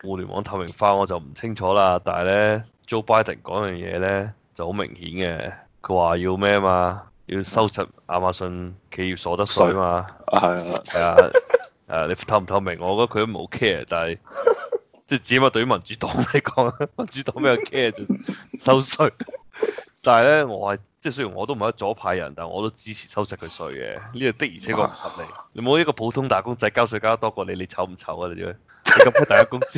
互聯網透明化我就唔清楚啦，但係咧 Joe Biden 講樣嘢咧就好明顯嘅，佢話要咩啊嘛，要收拾亞馬遜企業所得稅啊嘛， 係啊， 係啊，你透唔透明，我覺得佢都冇 care，但係即係只係對於民主黨嚟講，民主黨比較 care 就收稅，但係咧我係即係雖然我都唔係一左派人，但係我都支持收拾佢稅嘅，呢個的而且確唔合理，你冇一個普通打工仔交稅交得多過你，你醜唔醜啊你？你咁喺大家公司，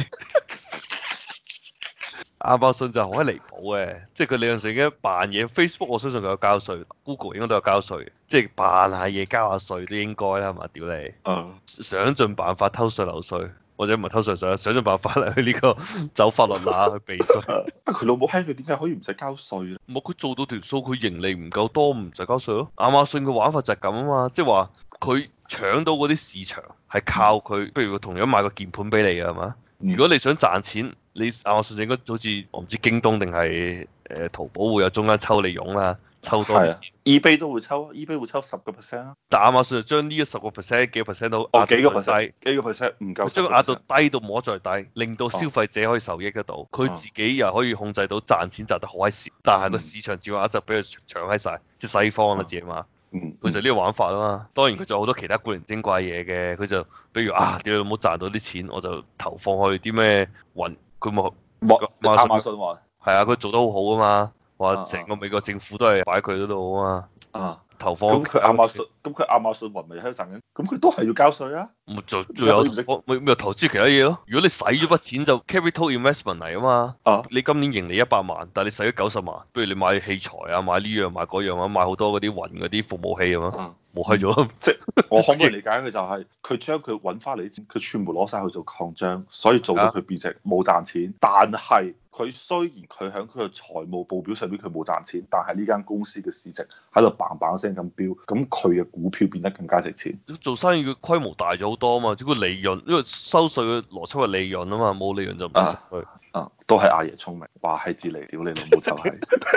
亞馬遜就好閪離譜嘅，即係佢理論上已經扮嘢。Facebook 我相信佢有交稅，Google 應該都有交稅，即係扮下嘢交下稅都應該啦，係嘛？屌你，想盡辦法偷稅漏稅，或者唔係偷稅稅，想盡辦法嚟去呢個走法律罅去避稅。 佢老母閪，佢點解可以唔使交稅咧？ 冇佢做到條數，佢盈利唔夠多，唔使交稅咯。亞馬遜嘅玩法就係咁啊嘛，即係話佢搶到嗰啲市場係靠佢，譬如佢同樣賣個鍵盤俾你嘅係嘛？如果你想賺錢，你亞馬遜應該好似我唔知京東定係淘寶會有中間抽你傭啦，抽多啲。 eBay 都會抽，eBay 會抽10%啊。 但亞馬遜就將呢個10%幾個 percent 都幾個 percent 幾個 percent 唔夠， 將佢壓到低到冇得再低，令到消費者可以受益得到，佢自己又可以控制到賺錢賺得好閪少，但係個市場佔有率就俾佢搶閪晒，即係西方啦自己嘛。佢就呢個玩法啊嘛，當然佢仲有好多其他古靈精怪嘢嘅，佢就比如屌你冇賺到啲錢，我就投放去啲咩雲，佢冇亞馬遜話係啊，佢做得好好啊嘛，話成個美國政府都係擺佢嗰度啊嘛，投放咁佢亞馬遜雲咪喺度賺緊，咁佢都係要交稅啊。 咪仲有咪投資其他嘢咯？如果你使咗筆錢就 capital investment 嚟啊嘛，你今年盈利100萬，但係你使咗90萬，不如你買器材啊，買呢樣買嗰樣啊，買好多嗰啲雲嗰啲服務器啊嘛，冇閪咗。 即係我可唔可以理解佢就係佢將佢揾翻嚟啲錢，佢全部攞晒去做擴張，所以做到佢變成冇賺錢，但係佢雖然佢喺佢嘅財務報表上邊佢冇賺錢，但係呢間公司嘅市值喺度砰砰聲咁飆，咁佢嘅股票變得更加值錢。 做生意嘅規模大咗好多啊嘛，只不過利潤，因為收稅嘅邏輯係利潤啊嘛，冇利潤就唔使稅。 都係阿爺聰明，話係至嚟，屌你老母就係。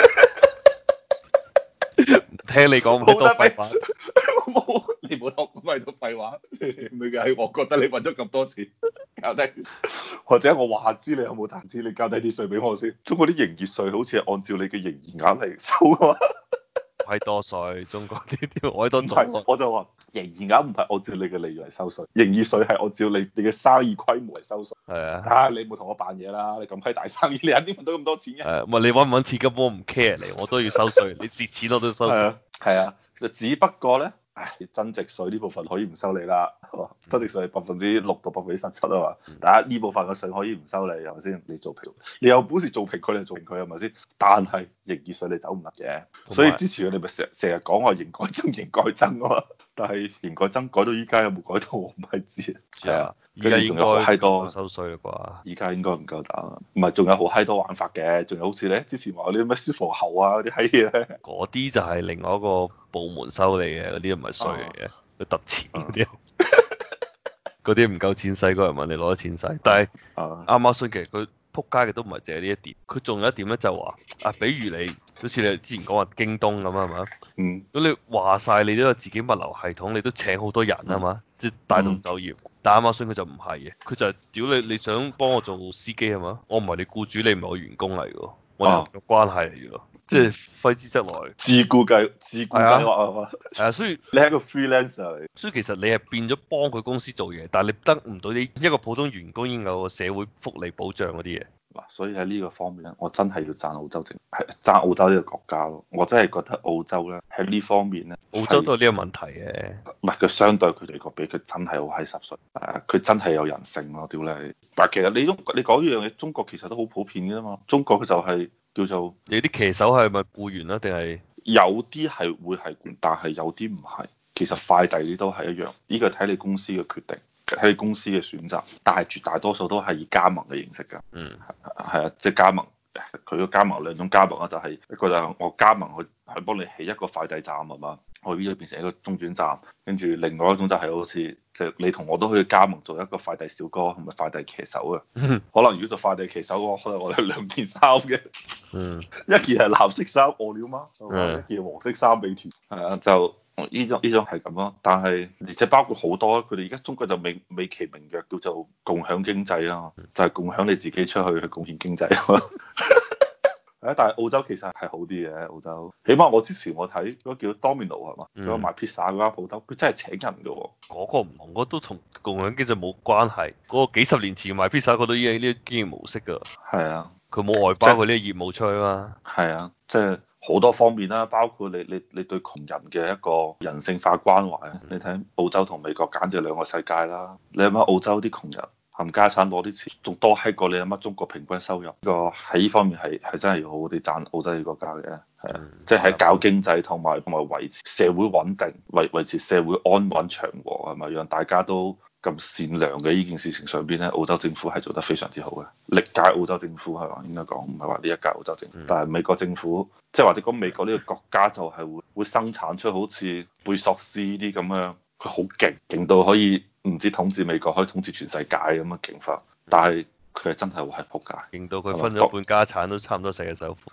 聽你講咁多廢話， 冇你冇學咁咪多廢話，咪係我覺得你揾咗咁多錢，交低，或者我話知你有冇賺錢，你交低啲稅俾我先。中國啲營業稅好似係按照你嘅營業額嚟收啊嘛。 閪多稅，中國呢啲我多做，我就話營業額唔係按照你嘅利潤嚟收稅，營業稅係按照你嘅生意規模嚟收稅。 係啊， 你冇同我扮嘢啦，你咁閪大生意，你肯定揾到咁多錢嘅。 唔係你揾唔揾錢根本我唔 care 你，我都要收稅，你蝕錢我都要收稅。 係啊，就只不過咧。增值稅呢部分可以唔收你啦，增值稅係6%到17%啊嘛，但係呢部分嘅稅可以唔收你，係咪先？你做評，你有本事做評佢就做評佢係咪先？但係營業稅你走唔甩嘅，所以之前佢哋咪成日講話營改增營改增啊嘛，但係營改增改到依家有冇改到我唔係知。 係啊， 而家仲有好閪多收稅啦啩？ 依家應該唔夠膽，唔係仲有好閪多玩法嘅，仲有好似咧之前話嗰啲咩消防喉啊嗰啲閪嘢咧， 嗰啲就係另外一個部門收你嘅，嗰啲唔係稅嚟嘅，佢揼錢嗰啲，嗰啲唔夠錢使，嗰人問你攞咗錢使。但係亞馬遜其實佢撲街嘅都唔係淨係呢一點，佢仲有一點咧就話比如你好似你之前講話京東咁係嘛？咁你話晒你都有自己物流系統，你都請好多人係嘛？即係帶動就業。但亞馬遜佢就唔係嘅，佢就係屌你想幫我做司機係嘛？我唔係你僱主，你唔係我員工嚟㗎，我哋有關係嚟㗎。即係揮之則來， 自僱計劃係嘛？ 係啊，所以你係一個 freelancer 嚟， 所以其實你係變咗幫佢公司做嘢，但係你得唔到啲一個普通員工應有個社會福利保障嗰啲嘢。 嗱，所以喺呢個方面咧，我真係要讚澳洲政，係讚澳洲呢個國家咯。我真係覺得澳洲咧喺呢方面咧， 澳洲都有呢個問題嘅。 唔係佢相對佢哋個比，佢真係好閪濕碎，佢真係有人性咯，屌你！但係其實你講呢樣嘢，中國其實都好普遍嘅嘛。中國佢就係叫做你啲騎手係咪僱員啊？定係有啲係會係僱，但係有啲唔係。其實快遞呢都係一樣，呢個睇你公司嘅決定，睇你公司嘅選擇。但係絕大多數都係以加盟嘅形式㗎。係啊，即係加盟。佢個加盟兩種加盟啊，就係一個就係我加盟去幫你起一個快遞站係嘛， 我 V 咗變成一個中轉站，跟住另外一種就係好似即係你同我都可以加盟做一個快遞小哥同埋快遞騎手啊。可能如果做快遞騎手嘅話，可能我哋兩件衫嘅，一件係藍色衫餓了嗎？一件黃色衫美團。係啊，就呢種係咁咯。但係而且包括好多，佢哋而家中國就美其名曰叫做共享經濟啊，就係共享你自己出去貢獻經濟。但係澳洲其實係好啲嘅，澳洲起碼我之前我睇嗰個叫 Domino 係嘛，嗰個賣披薩嗰間鋪頭，佢真係請人嘅喎。 嗰個唔同，嗰都同共享經濟冇關係。嗰個幾十年前賣披薩嗰度已經呢啲經營模式㗎。 係啊， 佢冇外包佢呢啲業務出去嘛。 係啊，即係好多方面啦，包括你對窮人嘅一個人性化關懷。你睇澳洲同美國簡直兩個世界啦。你諗下澳洲啲窮人冚家產攞啲錢，仲多閪過你阿乜中國平均收入。個喺呢方面係真係要好好啲讚澳洲呢個國家嘅，係啊，即係喺搞經濟同埋維持社會穩定、維持社會安穩祥和係咪？讓大家都咁善良嘅呢件事情上邊咧，澳洲政府係做得非常之好嘅。歷屆澳洲政府係嘛，應該講唔係話呢一屆澳洲政府，但係美國政府即係或者講美國呢個國家就係會生產出好似貝索斯呢啲咁樣，佢好勁到可以。唔知統治美國可以統治全世界咁嘅勁法，但係佢係真係好係仆街， 勁到佢分咗半家產都差唔多世界首富。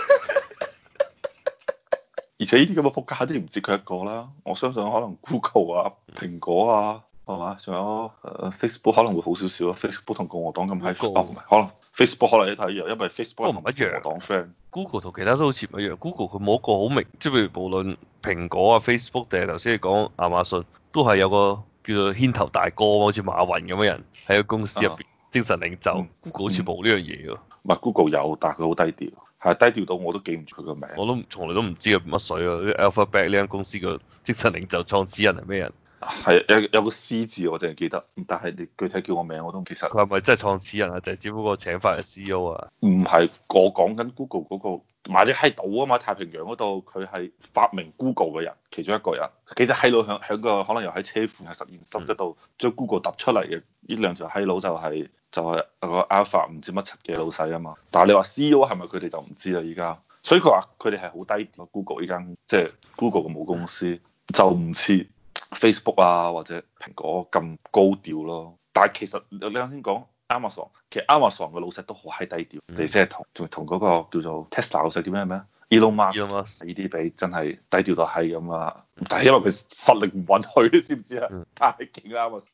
而且呢啲咁嘅仆街都唔止佢一個啦，我相信可能 Google 啊、蘋果啊，係嘛？仲有Facebook 可能會好少少咯。Facebook 同共和黨咁閪，唔係可能 Facebook 可能一睇一樣，因為 Facebook 同唔一樣。 共和黨 friend。 Google 同其他都好似唔一樣。Google 佢冇一個好明，即係譬如無論蘋果啊、Facebook 定係頭先你講亞馬遜，都係有個叫做牽頭大哥，好似馬雲咁嘅人喺個公司入邊，精神領袖。Google 好似冇呢樣嘢喎。 唔係 Google 有，但係佢好低調，係低調到我都記唔住佢個名。 我都從來都唔知佢乜水啊！Alphabet 呢間公司個精神領袖創始人係咩人？ 係有個 C 字我淨係記得，但係你具體叫我名我都唔記得。 佢係咪真係創始人啊？就係只不過請翻個 CEO 啊？ 唔係，我講緊 Google 嗰個買隻閪島啊嘛，太平洋嗰度佢係發明 Google 嘅人，其中一個人。幾隻閪佬響個可能又喺車庫喺實驗室嗰度將 Google 揼出嚟嘅，呢兩條閪佬就係個 Alpha 唔知乜柒嘅老細啊嘛。但係你話 CEO 係咪佢哋就唔知啦依家。所以佢話佢哋係好低調。Google 呢間即係 Google 嘅母公司就唔似 Facebook 啊或者蘋果咁高調咯。但係其實你啱先講 Amazon， 其實 Amazon 嘅老細都好閪低調。你即係同嗰個叫做 Tesla 老細叫咩 Elon Musk 呢啲比真係低調到係咁啊！但係因為佢實力唔允許，你知唔知啊？太勁啦！